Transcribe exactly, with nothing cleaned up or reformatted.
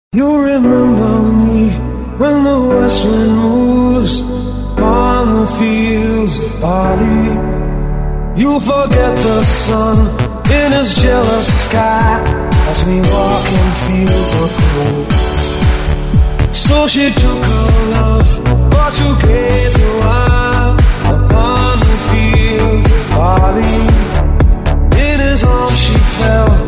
You remember me when the west wind moves on the fields of barley. You'll forget the sun in his jealous sky as we walk in fields of gold. So she took her love for to gaze a while upon the fields of barley. In his arms she fell